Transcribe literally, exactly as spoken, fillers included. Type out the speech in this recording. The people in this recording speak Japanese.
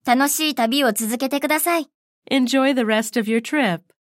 楽しい旅を続けてください。 Enjoy the rest of your trip.